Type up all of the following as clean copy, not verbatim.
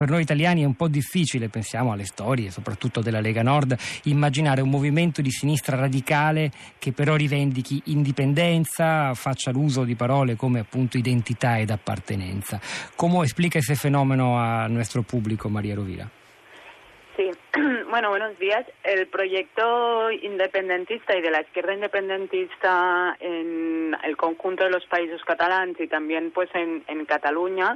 Per noi italiani è un po' difficile, pensiamo alle storie, soprattutto della Lega Nord, immaginare un movimento di sinistra radicale che però rivendichi indipendenza, faccia l'uso di parole come appunto identità ed appartenenza. ¿Cómo explica ese fenómeno a nuestro público, María Rovira? Sí, bueno, buenos días. El proyecto independentista y de la izquierda independentista en el conjunto de los países catalanes y también pues en Cataluña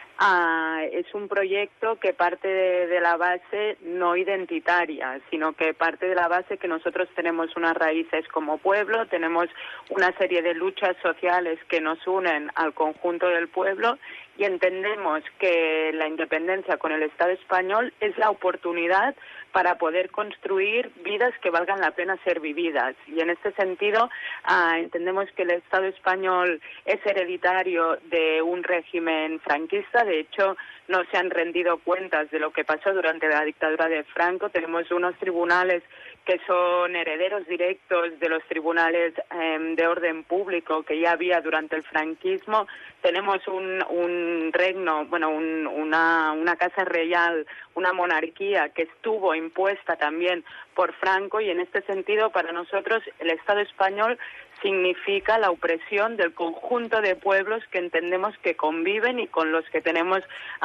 es un proyecto que parte de la base no identitaria, sino que parte de la base que nosotros tenemos unas raíces como pueblo, tenemos una serie de luchas sociales que nos unen al conjunto del pueblo y entendemos que la independencia con el Estado español es la oportunidad para poder construir vidas que valgan la pena ser vividas. Y en este sentido entendemos que el Estado español es hereditario de un régimen franquista. De hecho, no se han rendido cuentas de lo que pasó durante la dictadura de Franco. Tenemos unos tribunales que son herederos directos de los tribunales de orden público que ya había durante el franquismo. Tenemos un reino, bueno, una casa real, una monarquía que estuvo impuesta también por Franco, y en este sentido para nosotros el Estado español significa la opresión del conjunto de pueblos que entendemos que conviven y con los que tenemos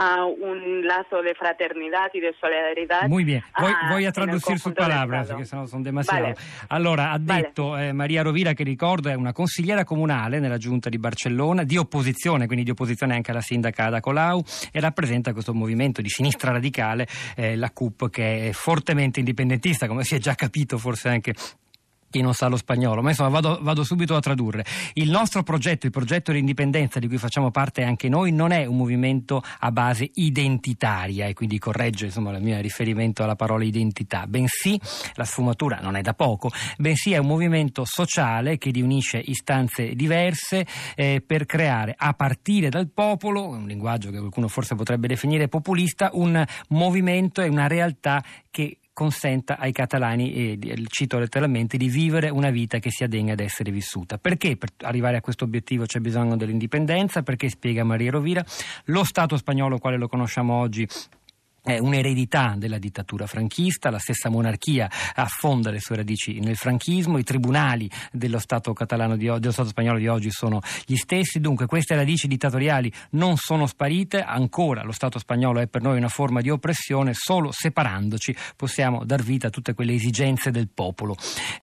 un lazo de fraternidad y de solidaridad. Muy bien, voy a traducir sus palabras perché sono demasiado. Vale. Allora, ha detto Maria Rovira, che ricordo è una consigliera comunale nella giunta di Barcellona, di opposizione, quindi di opposizione anche alla sindaca Ada Colau, e rappresenta questo movimento di sinistra radicale, la CUP, che è fortemente indipendentista, come si è già capito forse anche chi non sa lo spagnolo, ma insomma vado subito a tradurre. Il nostro progetto, il progetto di indipendenza di cui facciamo parte anche noi, non è un movimento a base identitaria, e quindi corregge insomma il mio riferimento alla parola identità, bensì, la sfumatura non è da poco, bensì è un movimento sociale che riunisce istanze diverse per creare, a partire dal popolo, un linguaggio che qualcuno forse potrebbe definire populista, un movimento e una realtà che consenta ai catalani, cito letteralmente, di vivere una vita che sia degna di essere vissuta. Perché per arrivare a questo obiettivo c'è bisogno dell'indipendenza? Perché, spiega Maria Rovira, lo Stato spagnolo quale lo conosciamo oggi è un'eredità della dittatura franchista, la stessa monarchia affonda le sue radici nel franchismo, i tribunali dello Stato catalano dello Stato spagnolo di oggi sono gli stessi, dunque queste radici dittatoriali non sono sparite, ancora lo Stato spagnolo è per noi una forma di oppressione, solo separandoci possiamo dar vita a tutte quelle esigenze del popolo.